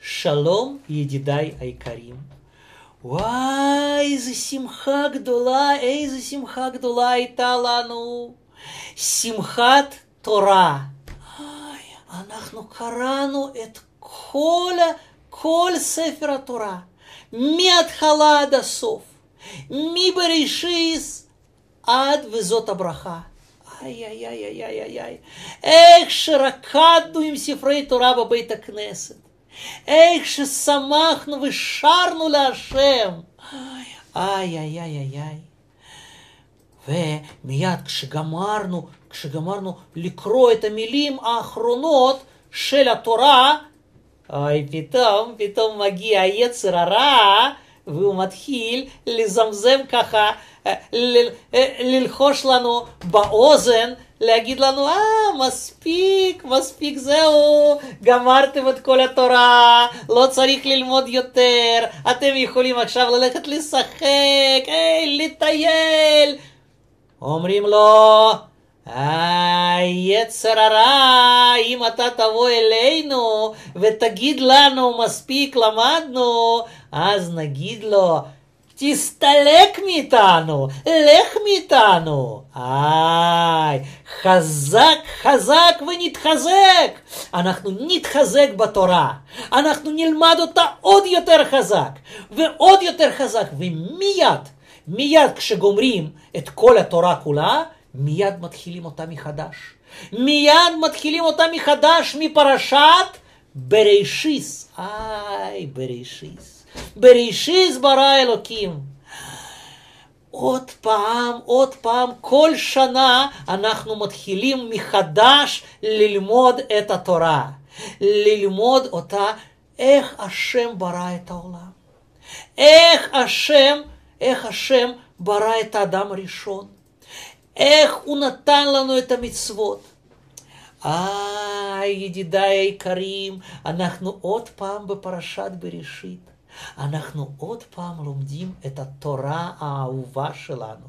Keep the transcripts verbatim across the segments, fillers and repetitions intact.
שלום ידידיי היקרים. וואי, איזה שמחה גדולה, איזה שמחה גדולה הייתה לנו. שמחת תורה. אנחנו קראנו את כל, כל ספר התורה, מההתחלה עד הסוף, מבראשית עד וזאת הברכה. איי, איי, איי, איי, איי, איי. איך שרקדנו עם ספרי תורה בבית הכנסת. איך ששמחנו ושרנו להשם. איי, איי, איי, איי, איי. ומיד כשגמרנו, כשגמרנו לקרוא את המילים האחרונות של התורה, אוי, פתאום, פתאום מגיע יצר הרע, והוא מתחיל לזמזם ככה, ל- ללחוש לנו באוזן, להגיד לנו, אה, מספיק, מספיק, זהו, גמרתם את כל התורה, לא צריך ללמוד יותר, אתם יכולים עכשיו ללכת לשחק, היי, לטייל. אומרים לו, אה, יצר הרע, אם אתה תבוא אלינו ותגיד לנו, מספיק, למדנו, אז נגיד לו, תסתלק מאיתנו, לך מאיתנו. איי, חזק, חזק ונתחזק. אנחנו נתחזק בתורה. אנחנו נלמד אותה עוד יותר חזק, ועוד יותר חזק. ומיד, מיד כשגומרים את כל התורה כולה, מיד מתחילים אותה מחדש. מיד מתחילים אותה מחדש מפרשת בראשית. איי, בראשית. בראשית ברא אלוקים. עוד פעם, עוד פעם, כל שנה אנחנו מתחילים מחדש ללמוד את התורה. ללמוד אותה, איך השם ברא את העולם. איך השם, איך השם ברא את האדם הראשון. איך הוא נתן לנו את המצוות. אה, ידידיי היקרים, אנחנו עוד פעם בפרשת בראשית. אנחנו עוד פעם לומדים את התורה האהובה שלנו.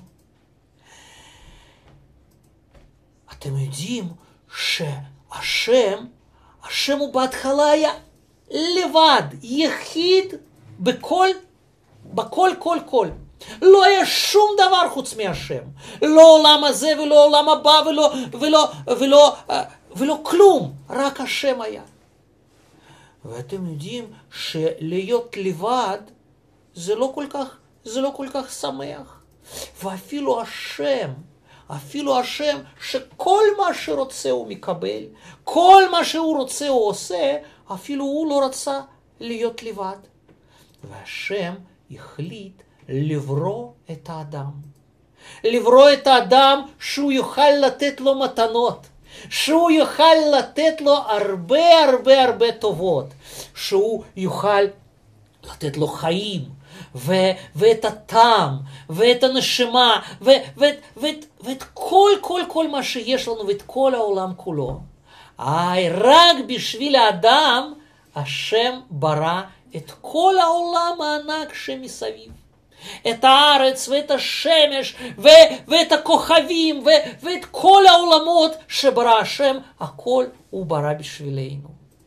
אתם יודעים שהשם, השם הוא בהתחלה היה לבד, יחיד בכל, בכל, כל, כל. לא היה שום דבר חוץ מהשם. לא עולם הזה ולא עולם הבא ולא, ולא, ולא, ולא כלום. רק השם היה. ואתם יודעים שלהיות לבד זה לא כל כך, זה לא כל כך שמח. ואפילו השם, אפילו השם שכל מה שרוצה הוא מקבל, כל מה שהוא רוצה הוא עושה, אפילו הוא לא רצה להיות לבד. והשם החליט לברוא את האדם. לברוא את האדם שהוא יוכל לתת לו מתנות. שהוא יוכל לתת לו הרבה הרבה הרבה טובות. שהוא יוכל לתת לו חיים. ו- ואת הטעם. ואת הנשמה. ו- ואת, ואת, ואת כל כל כל מה שיש לנו. ואת כל העולם כולו. איי, רק בשביל האדם השם ברא את כל העולם הענק שמסביב. את הארץ ואת השמש ו- ואת הכוכבים ו- ואת כל העולמות שברא השם, הכל הוא ברא בשבילנו.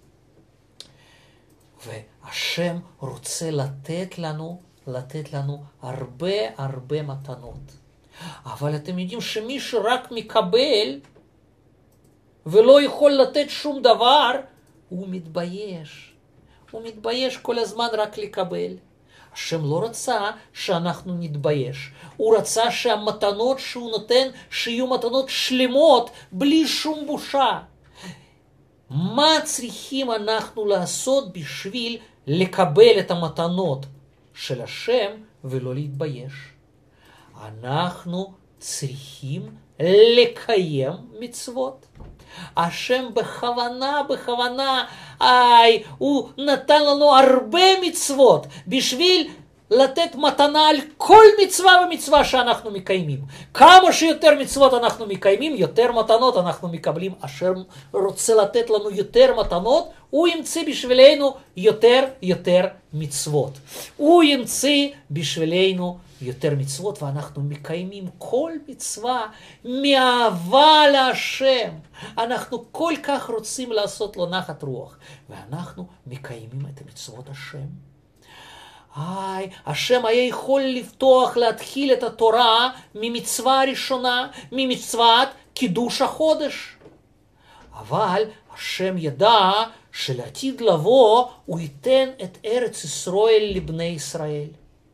והשם רוצה לתת לנו, לתת לנו הרבה הרבה מתנות. אבל אתם יודעים שמי שרק מקבל ולא יכול לתת שום דבר, הוא מתבייש. הוא מתבייש כל הזמן רק לקבל. השם לא רצה שאנחנו נתבייש. הוא רצה שהמתנות שהוא נותן, שיהיו מתנות שלמות, בלי שום בושה. מה צריכים אנחנו לעשות בשביל לקבל את המתנות של השם ולא להתבייש? אנחנו צריכים לקיים מצוות. השם בכוונה, בכוונה, איי, הוא נתן לנו הרבה מצוות בשביל, לתת מתנה על כל מצווה ומצווה שאנחנו מקיימים. כמה שיותר מצוות אנחנו מקיימים, יותר מתנות אנחנו מקבלים. אשר רוצה לתת לנו יותר מתנות, הוא ימציא בשבילנו יותר יותר מצוות. הוא ימציא בשבילנו יותר מצוות, ואנחנו מקיימים כל מצווה מאהבה להשם. אנחנו כל כך רוצים לעשות לו נחת רוח, ואנחנו מקיימים את מצוות השם. היי, השם היה יכול לפתוח, להתחיל את התורה ממצווה הראשונה, ממצוות קידוש החודש. אבל השם ידע שלעתיד לבוא הוא ייתן את ארץ ישראל לבני ישראל.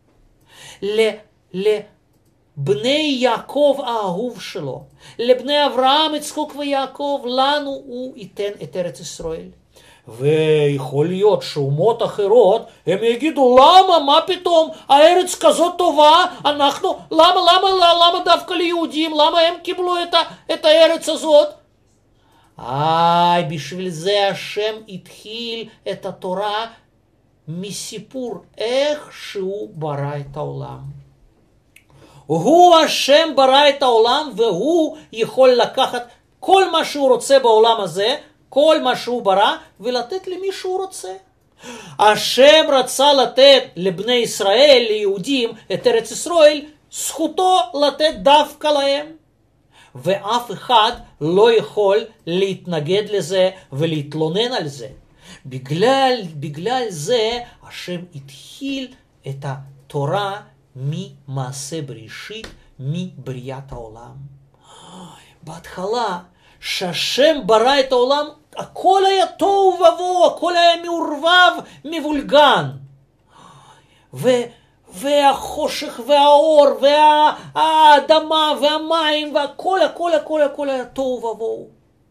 לבני יעקב האהוב שלו, לבני אברהם, יצחק ויעקב, לנו הוא ייתן את ארץ ישראל. ויכול להיות שאומות אחרות הם יגידו, למה, מה פתאום, הארץ כזאת טובה, אנחנו, למה, למה, למה דווקא ליהודים, למה הם קיבלו את, ה, את הארץ הזאת? איי, בשביל זה השם התחיל את התורה מסיפור איך שהוא ברא את העולם. הוא השם ברא את העולם, והוא יכול לקחת כל מה שהוא רוצה בעולם הזה, כל מה שהוא ברא, ולתת למי שהוא רוצה. השם רצה לתת לבני ישראל, ליהודים, את ארץ ישראל, זכותו לתת דווקא להם. ואף אחד לא יכול להתנגד לזה ולהתלונן על זה. בגלל, בגלל זה השם התחיל את התורה ממעשה בראשית, מבריאת העולם. בהתחלה, שהשם ברא את העולם, הכל היה תוהו ובוהו, הכל היה מעורבב, מבולגן. ו, והחושך והאור והאדמה והמים והכל, הכל, הכל, הכל היה תוהו ובוהו.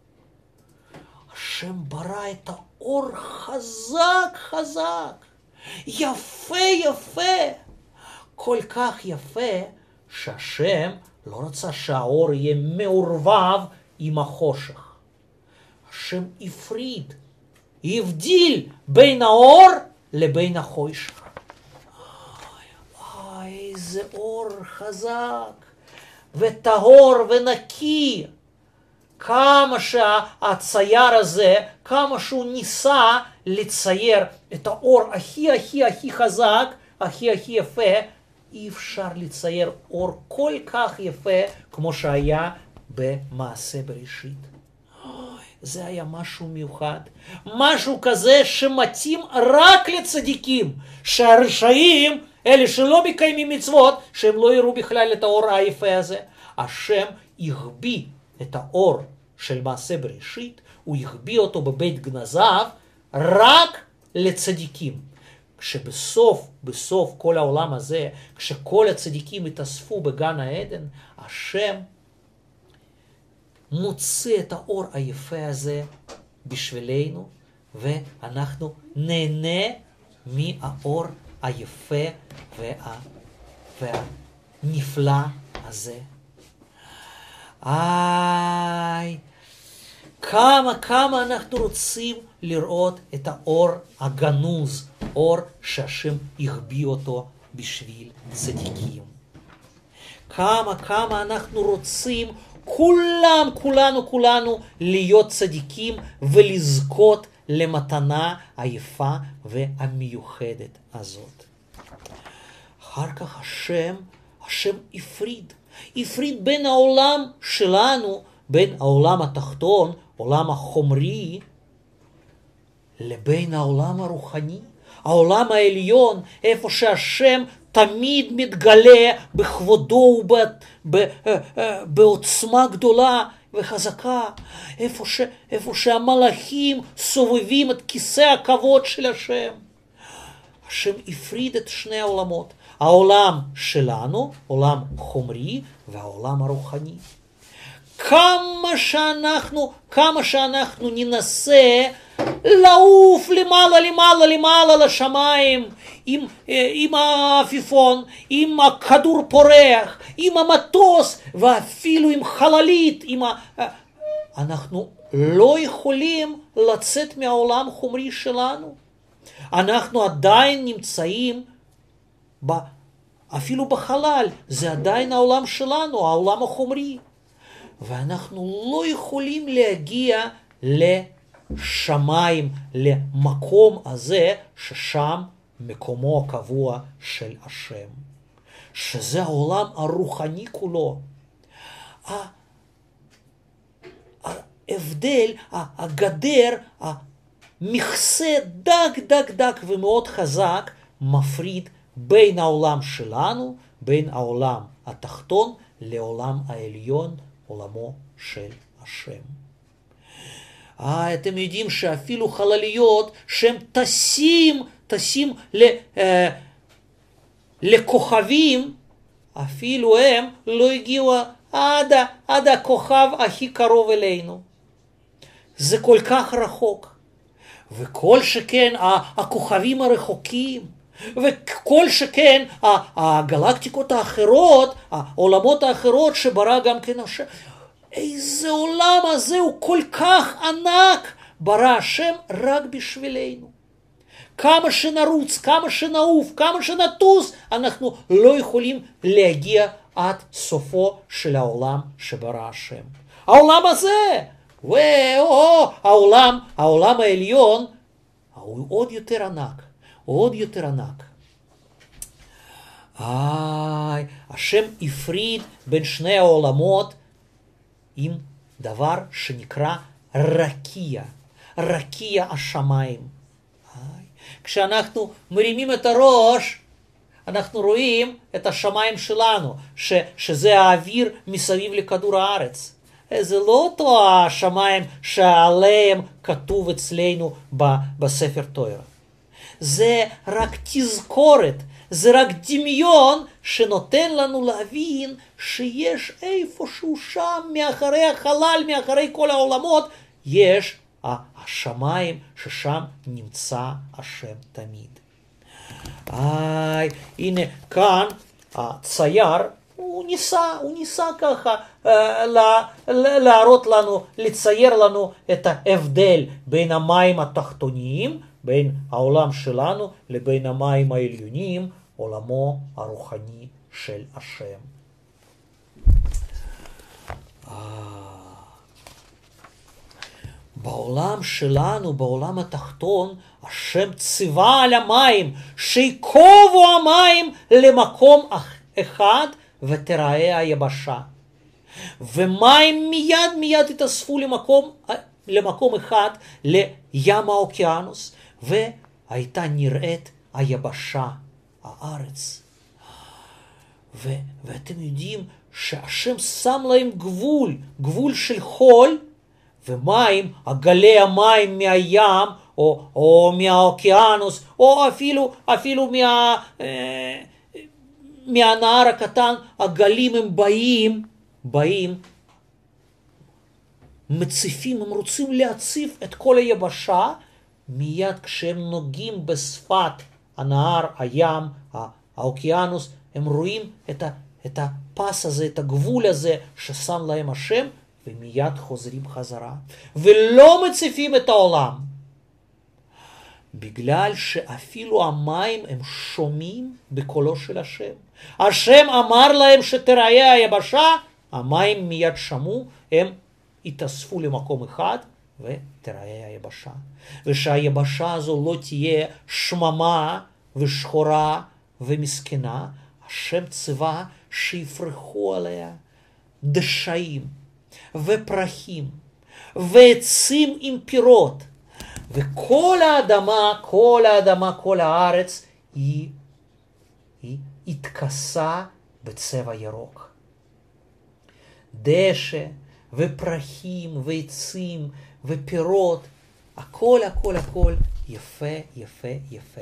השם ברא את האור חזק, חזק, יפה, יפה, כל כך יפה, שהשם לא רצה שהאור יהיה מעורבב עם החושך. השם הפריד, הבדיל בין האור לבין החושך. איי, איזה אור חזק וטהור ונקי. כמה שהצייר הזה, כמה שהוא ניסה לצייר את האור הכי הכי הכי חזק, הכי הכי יפה, אי אפשר לצייר אור כל כך יפה כמו שהיה במעשה בראשית. זה היה משהו מיוחד, משהו כזה שמתאים רק לצדיקים, שהרשעים, אלה שלא מקיימים מצוות, שהם לא יראו בכלל את האור היפה הזה. השם יחביא את האור של מעשה בראשית, הוא יחביא אותו בבית גנזיו רק לצדיקים. כשבסוף, בסוף כל העולם הזה, כשכל הצדיקים התאספו בגן העדן, השם מוצא את האור היפה הזה בשבילנו, ואנחנו נהנה מהאור היפה וה... והנפלא הזה. איי, כמה כמה אנחנו רוצים לראות את האור הגנוז, אור שהשם יחביא אותו בשביל צדיקים. כמה כמה אנחנו רוצים כולם, כולנו, כולנו להיות צדיקים ולזכות למתנה היפה והמיוחדת הזאת. אחר כך השם, השם הפריד, הפריד בין העולם שלנו, בין העולם התחתון, עולם החומרי, לבין העולם הרוחני, העולם העליון, איפה שהשם תמיד מתגלה בכבודו ובעוצמה גדולה וחזקה, איפה, ש, איפה שהמלאכים סובבים את כיסא הכבוד של השם. השם הפריד את שני העולמות, העולם שלנו, עולם חומרי, והעולם הרוחני. כמה שאנחנו, כמה שאנחנו ננסה לעוף למעלה, למעלה, למעלה לשמיים, עם, עם העפיפון, עם הכדור פורח, עם המטוס, ואפילו עם חללית, עם ה... אנחנו לא יכולים לצאת מהעולם החומרי שלנו. אנחנו עדיין נמצאים אפילו בחלל, זה עדיין העולם שלנו, העולם החומרי. ואנחנו לא יכולים להגיע לשמיים, למקום הזה, ששם מקומו הקבוע של השם. שזה העולם הרוחני כולו. ההבדל, הגדר, המכסה דק דק דק ומאוד חזק, מפריד בין העולם שלנו, בין העולם התחתון, לעולם העליון, עולמו של השם. אה, אתם יודעים שאפילו חלליות שהם טסים, טסים ל, אה, לכוכבים, אפילו הם לא הגיעו עד, עד הכוכב הכי קרוב אלינו. זה כל כך רחוק. וכל שכן הכוכבים הרחוקים, וכל שכן הגלקטיקות האחרות, העולמות האחרות שברא גם כן השם. איזה עולם הזה הוא כל כך ענק, ברא השם רק בשבילנו. כמה שנרוץ, כמה שנעוף, כמה שנטוס, אנחנו לא יכולים להגיע עד סופו של העולם שברא השם. העולם הזה, וואו, העולם, העולם העליון, הוא עוד יותר ענק, עוד יותר ענק. איי, השם הפריד בין שני העולמות עם דבר שנקרא רקיע, רקיע השמיים. איי, כשאנחנו מרימים את הראש, אנחנו רואים את השמיים שלנו, ש, שזה האוויר מסביב לכדור הארץ. זה לא אותו השמיים שעליהם כתוב אצלנו בספר תורה. זה רק תזכורת, זה רק דמיון שנותן לנו להבין שיש איפשהו שם, מאחורי החלל, מאחורי כל העולמות, יש השמיים ששם נמצא השם תמיד. איי, הנה כאן הצייר, הוא ניסה, הוא ניסה ככה להראות לנו, לצייר לנו את ההבדל בין המים התחתוניים, בין העולם שלנו לבין המים העליונים, עולמו הרוחני של השם. בעולם שלנו, בעולם התחתון, השם ציווה על המים, שיקובו המים למקום אחד ותראה היבשה. ומים מיד מיד התאספו למקום, למקום אחד, לים האוקיינוס, והייתה נראית היבשה, הארץ. ו, ואתם יודעים שהשם שם להם גבול, גבול של חול, ומים, הגלי המים מהים, או, או מהאוקיינוס, או אפילו, אפילו מה, אה, מהנהר הקטן, הגלים הם באים, באים, מציפים, הם רוצים להציף את כל היבשה, מיד כשהם נוגעים בשפת הנהר, הים, האוקיינוס, הם רואים את, ה, את הפס הזה, את הגבול הזה ששם להם השם, ומיד חוזרים חזרה, ולא מציפים את העולם. בגלל שאפילו המים הם שומעים בקולו של השם. השם אמר להם שתראה היבשה, המים מיד שמעו, הם התאספו למקום אחד, ותראה היבשה. ושהיבשה הזו לא תהיה שממה ושחורה ומסכנה, השם ציווה שיפרחו עליה דשאים ופרחים ועצים עם פירות, וכל האדמה, כל האדמה, כל הארץ היא, היא התכסה בצבע ירוק. דשא ופרחים ועצים ופירות, הכל הכל הכל יפה יפה יפה.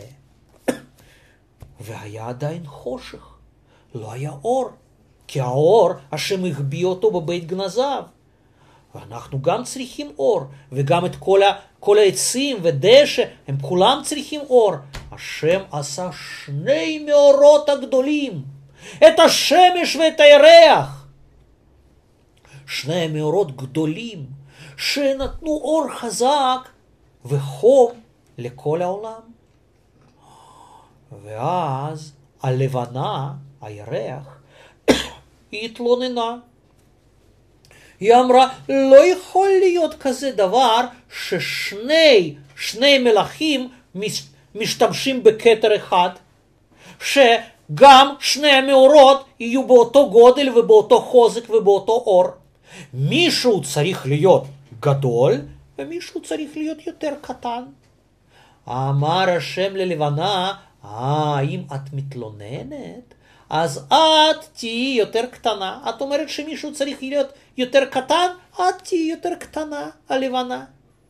והיה עדיין חושך, לא היה אור, כי האור השם החביא אותו בבית גנזיו. ואנחנו גם צריכים אור, וגם את כל, ה, כל העצים ודשא, הם כולם צריכים אור. השם עשה שני מאורות הגדולים, את השמש ואת הירח. שני מאורות גדולים, שנתנו אור חזק וחום לכל העולם. ואז הלבנה, הירח, היא התלוננה. היא אמרה, לא יכול להיות כזה דבר ששני שני מלאכים משתמשים בכתר אחד, שגם שני המאורות יהיו באותו גודל ובאותו חוזק ובאותו אור. מישהו צריך להיות גדול ומישהו צריך להיות יותר קטן. אמר השם ללבנה, אה, אם את מתלוננת, אז את תהיי יותר קטנה. את אומרת שמישהו צריך להיות יותר קטן, את תהיי יותר קטנה, הלבנה.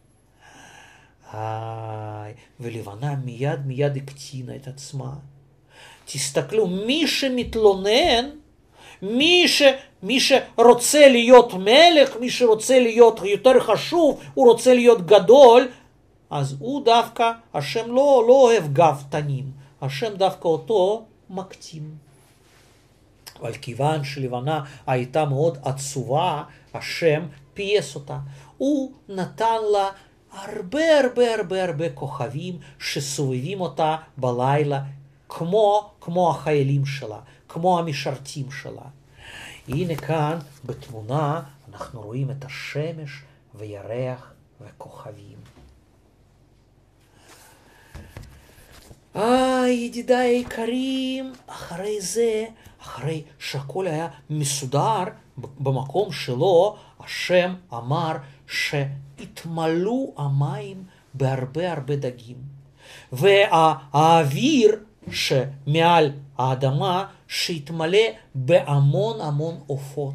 איי, ולבנה מיד מיד הקטינה את עצמה. תסתכלו, מי שמתלונן, מי, ש, מי שרוצה להיות מלך, מי שרוצה להיות יותר חשוב, הוא רוצה להיות גדול, אז הוא דווקא, השם לא, לא אוהב גאוותנים, השם דווקא אותו מקטין. אבל כיוון שלבנה הייתה מאוד עצובה, השם פייס אותה. הוא נתן לה הרבה הרבה הרבה הרבה כוכבים שסובבים אותה בלילה, כמו, כמו החיילים שלה, כמו המשרתים שלה. הנה כאן בתמונה אנחנו רואים את השמש וירח וכוכבים. אה, ידידיי היקרים, אחרי זה, אחרי שהכל היה מסודר במקום שלו, השם אמר שהתמלאו המים בהרבה הרבה דגים. והאוויר שמעל האדמה שהתמלא בהמון המון עופות.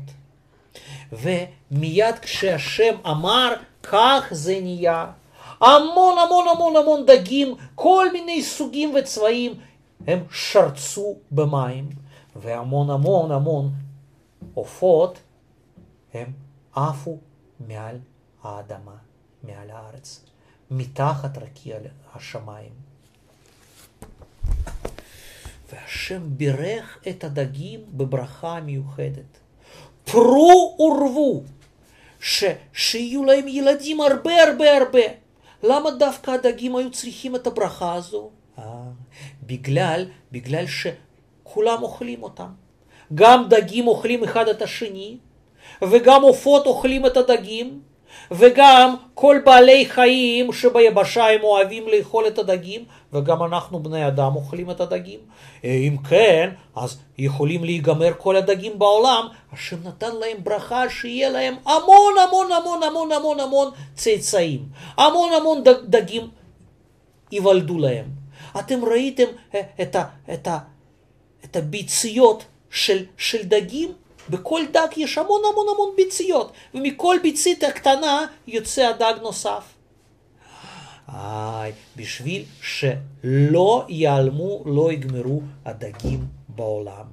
ומיד כשהשם אמר, כך זה נהיה. המון המון המון המון דגים, כל מיני סוגים וצבעים, הם שרצו במים. והמון המון המון עופות, הם עפו מעל האדמה, מעל הארץ, מתחת רקיע השמיים. והשם בירך את הדגים בברכה מיוחדת. פרו ורבו, ש, שיהיו להם ילדים הרבה הרבה הרבה. למה דווקא הדגים היו צריכים את הברכה הזו? אה, בגלל, בגלל שכולם אוכלים אותם. גם דגים אוכלים אחד את השני, וגם עופות אוכלים את הדגים, וגם כל בעלי חיים שביבשה הם אוהבים לאכול את הדגים, וגם אנחנו בני אדם אוכלים את הדגים. אם כן, אז יכולים להיגמר כל הדגים בעולם. השם נתן להם ברכה שיהיה להם המון המון המון המון המון המון צאצאים. המון המון דגים ייוולדו להם. אתם ראיתם את, ה, את, ה, את הביציות של, של דגים? בכל דג יש המון המון המון ביציות, ומכל ביצית הקטנה יוצא הדג נוסף. איי, בשביל שלא ייעלמו, לא יגמרו הדגים בעולם.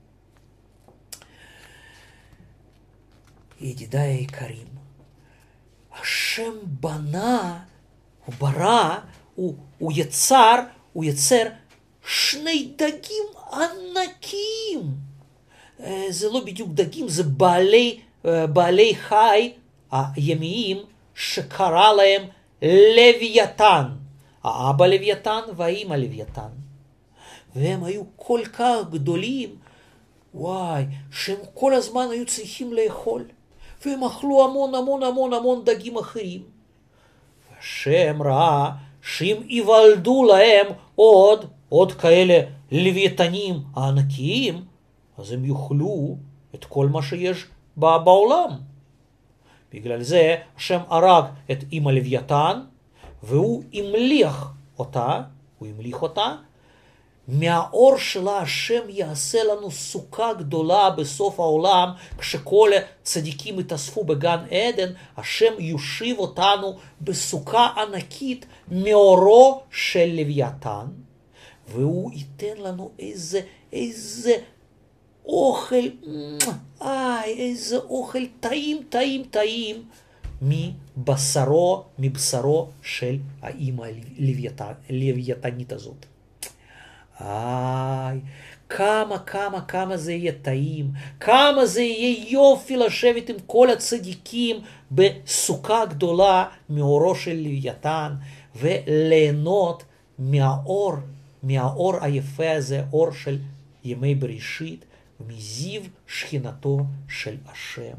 ידידיי היקרים, השם בנה, הוא ברא, הוא, הוא יצר, הוא יצר שני דגים ענקים. זה לא בדיוק דגים, זה בעלי, בעלי חי הימיים שקרא להם לוויתן. האבא לוויתן והאמא לוויתן. והם היו כל כך גדולים, וואי, שהם כל הזמן היו צריכים לאכול. והם אכלו המון המון המון המון דגים אחרים. השם ראה שאם ייוולדו להם עוד, עוד כאלה לוויתנים הענקיים, אז הם יאכלו את כל מה שיש בעולם. בגלל זה השם הרג את אמא לוויתן, והוא המליך אותה, הוא המליך אותה, מהאור שלה השם יעשה לנו סוכה גדולה בסוף העולם, כשכל הצדיקים יתאספו בגן עדן, השם יושיב אותנו בסוכה ענקית מאורו של לוויתן, והוא ייתן לנו איזה, איזה, אוכל, איי, איזה אוכל טעים, טעים, טעים, מבשרו, מבשרו של האמא הלוויתנית הזאת. איי, כמה, כמה, כמה זה יהיה טעים, כמה זה יהיה יופי לשבת עם כל הצדיקים בסוכה גדולה מאורו של לוויתן, וליהנות מהאור, מהאור היפה הזה, אור של ימי בראשית, ומזיו שכינתו של השם.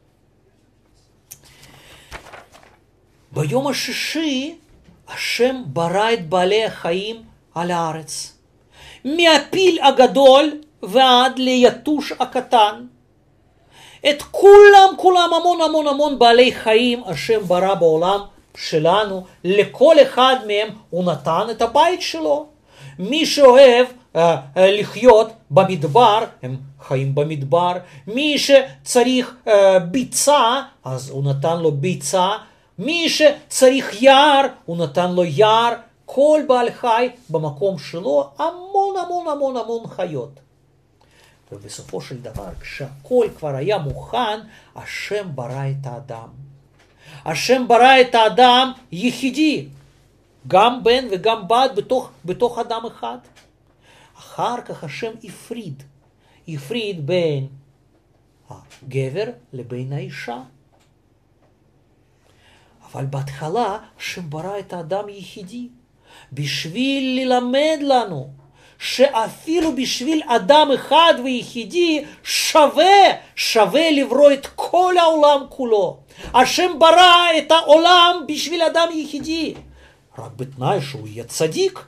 ביום השישי, השם ברא את בעלי החיים על הארץ. מהפיל הגדול ועד ליתוש הקטן. את כולם, כולם, המון המון המון בעלי חיים השם ברא בעולם שלנו. לכל אחד מהם הוא נתן את הבית שלו. מי שאוהב אה, אה, לחיות במדבר, הם חיים במדבר. מי שצריך אה, ביצה, אז הוא נתן לו ביצה. מי שצריך יער, הוא נתן לו יער. כל בעל חי במקום שלו, המון המון המון המון חיות. ובסופו של דבר, כשהכל כבר היה מוכן, השם ברא את האדם. השם ברא את האדם יחידי, גם בן וגם בת בתוך, בתוך אדם אחד. אחר כך השם הפריד, הפריד בין הגבר לבין האישה. אבל בהתחלה השם ברא את האדם יחידי, בשביל ללמד לנו שאפילו בשביל אדם אחד ויחידי שווה, שווה לברוא את כל העולם כולו. השם ברא את העולם בשביל אדם יחידי, רק בתנאי שהוא יהיה צדיק.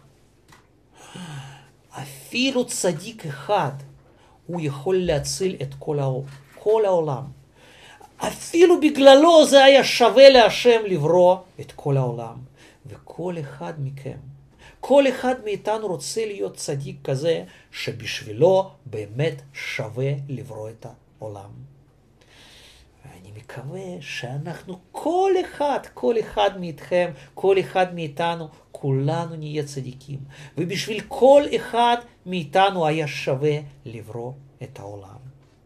אפילו צדיק אחד הוא יכול להציל את כל, העולם, כל העולם. אפילו בגללו זה היה שווה להשם לברוא את כל העולם. וכל אחד מכם, כל אחד מאיתנו רוצה להיות צדיק כזה, שבשבילו באמת שווה לברוא את העולם. ואני מקווה שאנחנו, כל אחד, כל אחד מאיתכם, כל אחד מאיתנו, כולנו נהיה צדיקים. ובשביל כל אחד מאיתנו היה שווה לברוא את העולם.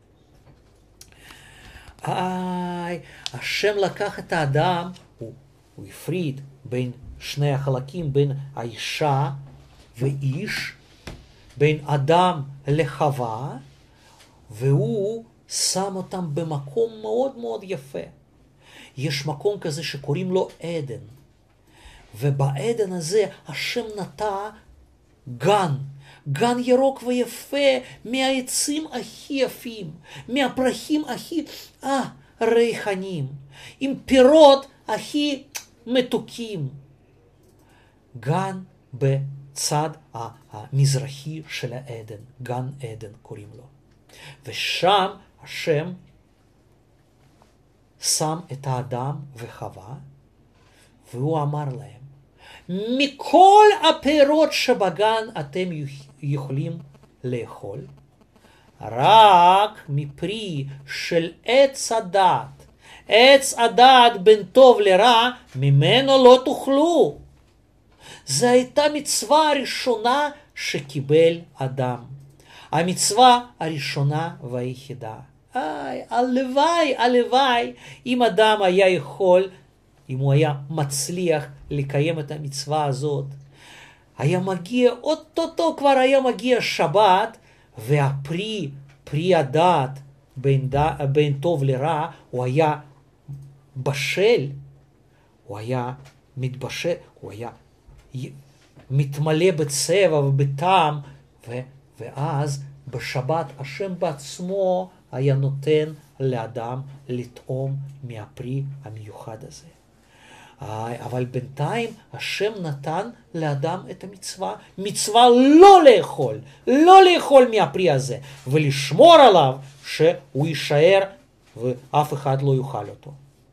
איי, השם לקח את האדם, הוא, הוא הפריד בין שני החלקים, בין האישה ואיש, בין אדם לחווה, והוא שם אותם במקום מאוד מאוד יפה. יש מקום כזה שקוראים לו עדן, ובעדן הזה השם נטע גן, גן ירוק ויפה, מהעצים הכי יפים, מהפרחים הכי אה, ריחניים, עם פירות הכי מתוקים. גן בצד המזרחי של העדן, גן עדן קוראים לו. ושם השם שם את האדם וחווה, והוא אמר להם, מכל הפירות שבגן אתם יכולים לאכול, רק מפרי של עץ הדעת, עץ הדעת בין טוב לרע, ממנו לא תאכלו. זו הייתה מצווה הראשונה שקיבל אדם. המצווה הראשונה והיחידה. איי, הלוואי, הלוואי, אם אדם היה יכול, אם הוא היה מצליח לקיים את המצווה הזאת, היה מגיע, אוטוטו כבר היה מגיע שבת, והפרי, פרי הדעת בין, בין טוב לרע, הוא היה בשל, הוא היה מתבשל, הוא היה מתמלא בצבע ובטעם, ו, ואז בשבת השם בעצמו היה נותן לאדם לטעום מהפרי המיוחד הזה. אבל בינתיים השם נתן לאדם את המצווה, מצווה לא לאכול, לא לאכול מהפרי הזה, ולשמור עליו שהוא יישאר ואף אחד לא יאכל אותו.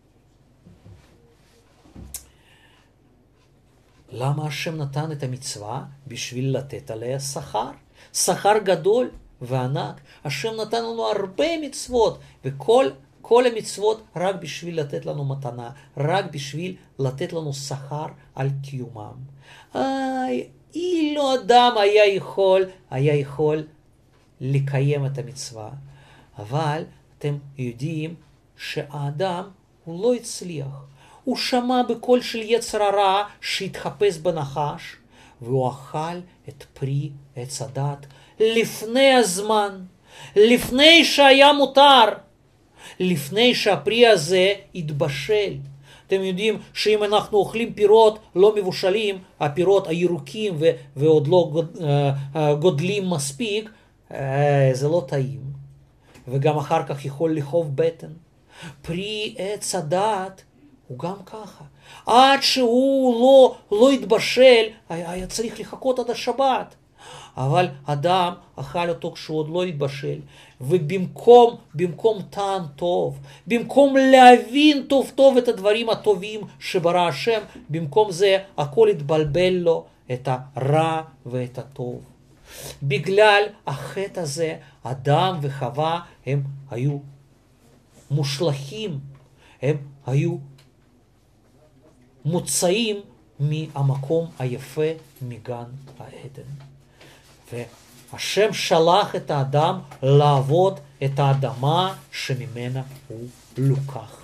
למה השם נתן את המצווה? בשביל לתת עליה שכר, שכר גדול וענק. השם נתן לנו הרבה מצוות, וכל כל המצוות רק בשביל לתת לנו מתנה, רק בשביל לתת לנו שכר על קיומם. איי, אילו אדם היה יכול, היה יכול לקיים את המצווה. אבל אתם יודעים שהאדם הוא לא הצליח. הוא שמע בקול של יצר הרע שהתחפש בנחש, והוא אכל את פרי עץ הדת לפני הזמן, לפני שהיה מותר, לפני שהפרי הזה התבשל. אתם יודעים שאם אנחנו אוכלים פירות לא מבושלים, הפירות הירוקים ו- ועוד לא גוד, uh, uh, גודלים מספיק, זה לא טעים, וגם אחר כך יכול לכאוב בטן. פרי עץ הדעת הוא גם ככה. עד שהוא לא, לא התבשל, היה, היה צריך לחכות עד השבת. אבל אדם אכל אותו כשהוא עוד לא התבשל, ובמקום במקום טעם טוב, במקום להבין טוב טוב את הדברים הטובים שברא השם, במקום זה הכל התבלבל לו, את הרע ואת הטוב. בגלל החטא הזה, אדם וחווה הם היו מושלכים, הם היו מוצאים מהמקום היפה מגן העדן. והשם שלח את האדם לעבוד את האדמה שממנה הוא לוקח.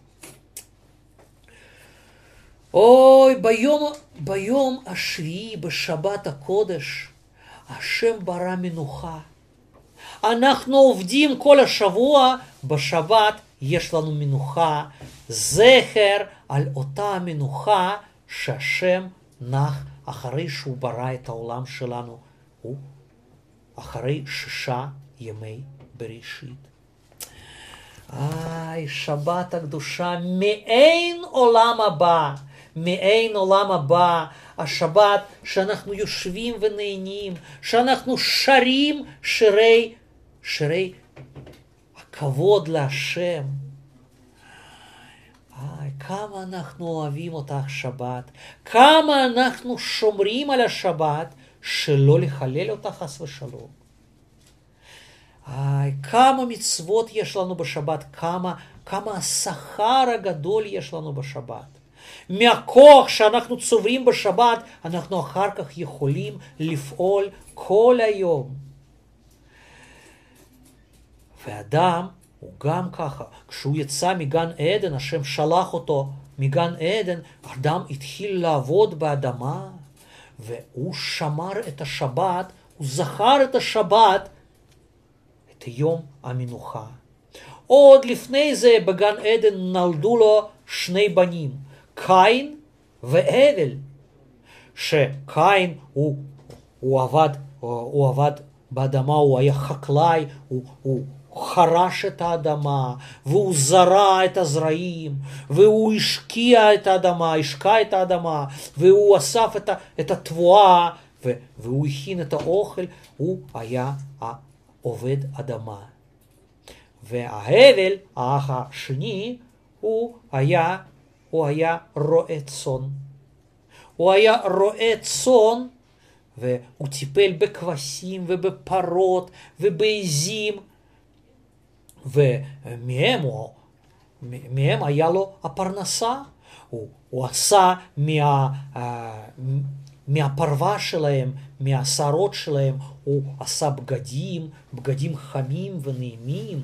אוי, ביום, ביום השביעי, בשבת הקודש, השם ברא מנוחה. אנחנו עובדים כל השבוע, בשבת יש לנו מנוחה, זכר על אותה מנוחה שהשם נח אחרי שהוא ברא את העולם שלנו, הוא אחרי שישה ימי בראשית. איי, שבת הקדושה, מעין עולם הבא, מעין עולם הבא, השבת שאנחנו יושבים ונהנים, שאנחנו שרים שירי, שירי הכבוד להשם. איי, כמה אנחנו אוהבים אותך שבת, כמה אנחנו שומרים על השבת, שלא לחלל אותה חס ושלום. איי, כמה מצוות יש לנו בשבת, כמה, כמה השכר הגדול יש לנו בשבת. מהכוח שאנחנו צוברים בשבת, אנחנו אחר כך יכולים לפעול כל היום. ואדם הוא גם ככה, כשהוא יצא מגן עדן, השם שלח אותו מגן עדן, אדם התחיל לעבוד באדמה, והוא שמר את השבת, הוא זכר את השבת, את יום המנוחה. עוד לפני זה בגן עדן נולדו לו שני בנים, קין והבל. שקין הוא, הוא, עבד, הוא עבד באדמה, הוא היה חקלאי, הוא, הוא חרש את האדמה, והוא זרע את הזרעים, והוא השקיע את האדמה, השקע את האדמה, והוא אסף את, את התבואה, והוא הכין את האוכל, הוא היה עובד אדמה. וההבל, האח השני, הוא היה, הוא היה רועה צאן. הוא היה רועה צאן, והוא טיפל בכבשים ובפרות ובעזים, ומהם הוא, מהם היה לו הפרנסה. הוא, הוא עשה מה, מהפרווה שלהם, מהשערות שלהם, הוא עשה בגדים, בגדים חמים ונעימים.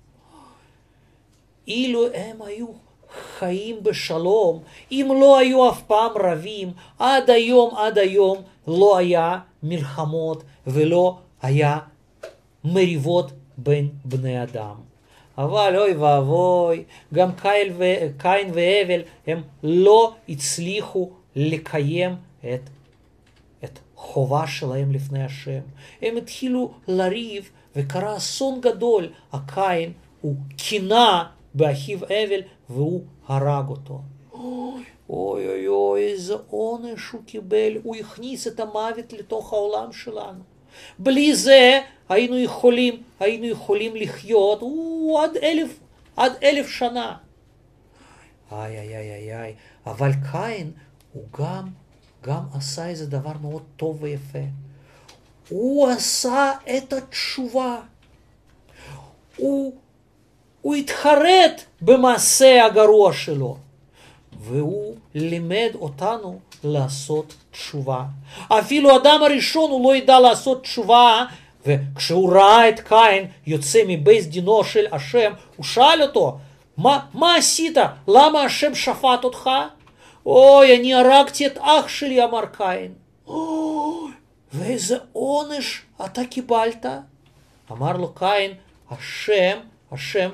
אילו הם היו חיים בשלום, אם לא היו אף פעם רבים, עד היום, עד היום, לא היה מלחמות ולא היה מריבות בין בני אדם. אבל אוי ואבוי, גם קין והבל הם לא הצליחו לקיים את, את חובה שלהם לפני השם. הם התחילו לריב וקרה אסון גדול. הקין הוא קינא באחיו הבל והוא הרג אותו. אוי אוי אוי, אוי איזה עונש הוא קיבל, הוא הכניס את המוות לתוך העולם שלנו. בלי זה היינו יכולים, היינו יכולים לחיות הוא, עד אלף, עד אלף שנה. איי איי איי איי איי, אבל קין הוא גם, גם עשה איזה דבר מאוד טוב ויפה. הוא עשה את התשובה. הוא, הוא התחרט במעשה הגרוע שלו. והוא לימד אותנו לעשות תשובה. אפילו אדם הראשון הוא לא ידע לעשות תשובה, וכשהוא ראה את קין יוצא מבית דינו של השם, הוא שאל אותו, מה, מה עשית? למה השם שפט אותך? אוי, אני הרגתי את אח שלי, אמר קין. אוי, ואיזה עונש אתה קיבלת? אמר לו קין, השם, השם,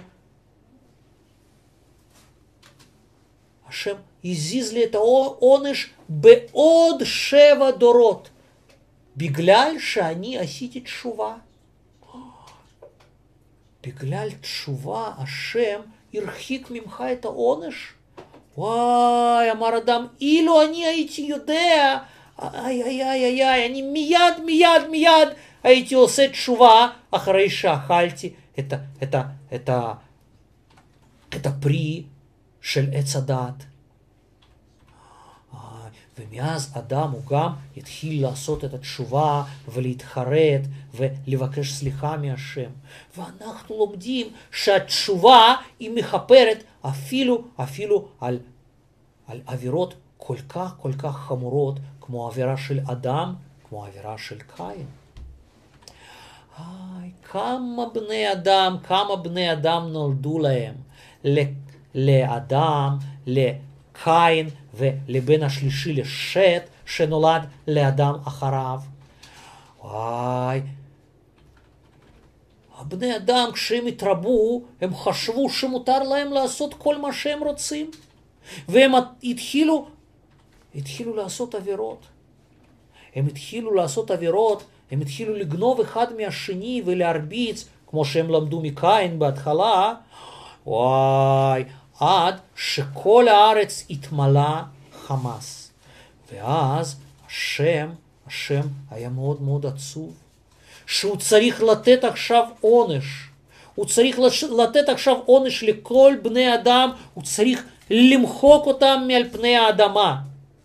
השם הזיז לי את העונש בעוד שבע דורות, בגלל שאני עשיתי תשובה. בגלל תשובה, השם הרחיק ממך את העונש? וואי, אמר אדם, אילו אני הייתי יודע, איי, איי, איי, איי, איי, אני מיד, מיד, מיד הייתי עושה תשובה אחרי שאכלתי את, את, את, את, את הפרי של עץ הדעת. ומאז אדם הוא גם התחיל לעשות את התשובה ולהתחרט ולבקש סליחה מהשם. ואנחנו לומדים שהתשובה היא מכפרת אפילו, אפילו על, על עבירות כל כך כל כך חמורות כמו עבירה של אדם, כמו עבירה של קין. איי, כמה בני אדם, כמה בני אדם נולדו להם, לאדם, לקין ולבן השלישי לשת שנולד לאדם אחריו. וואי, הבני אדם כשהם התרבו, הם חשבו שמותר להם לעשות כל מה שהם רוצים. והם התחילו, התחילו לעשות עבירות. הם התחילו לעשות עבירות, הם התחילו לגנוב אחד מהשני ולהרביץ, כמו שהם למדו מקין בהתחלה. וואי, עד שכל הארץ התמלא חמס. ואז השם, השם היה מאוד מאוד עצוב, שהוא צריך לתת עכשיו עונש. הוא צריך לתת עכשיו עונש לכל בני אדם, הוא צריך למחוק אותם מעל פני האדמה.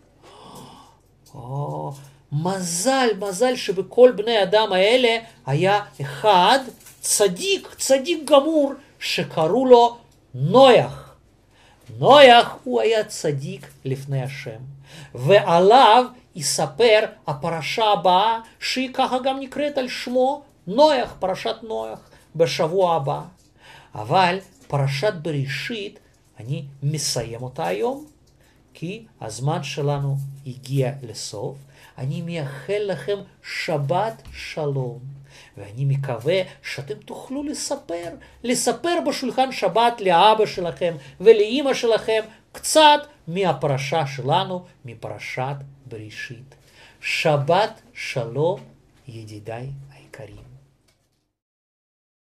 או, מזל, מזל שבכל בני אדם האלה היה אחד צדיק, צדיק גמור, שקראו לו נויח. נויח הוא היה צדיק לפני השם, ועליו יספר הפרשה הבאה, שהיא ככה גם נקראת על שמו, נויח, פרשת נויח, בשבוע הבא. אבל פרשת בראשית, אני מסיים אותה היום, כי הזמן שלנו הגיע לסוף. אני מייחל לכם שבת שלום, ואני מקווה שאתם תוכלו לספר, לספר בשולחן שבת לאבא שלכם ולאמא שלכם קצת מהפרשה שלנו, מפרשת בראשית. שבת שלום, ידידיי היקרים.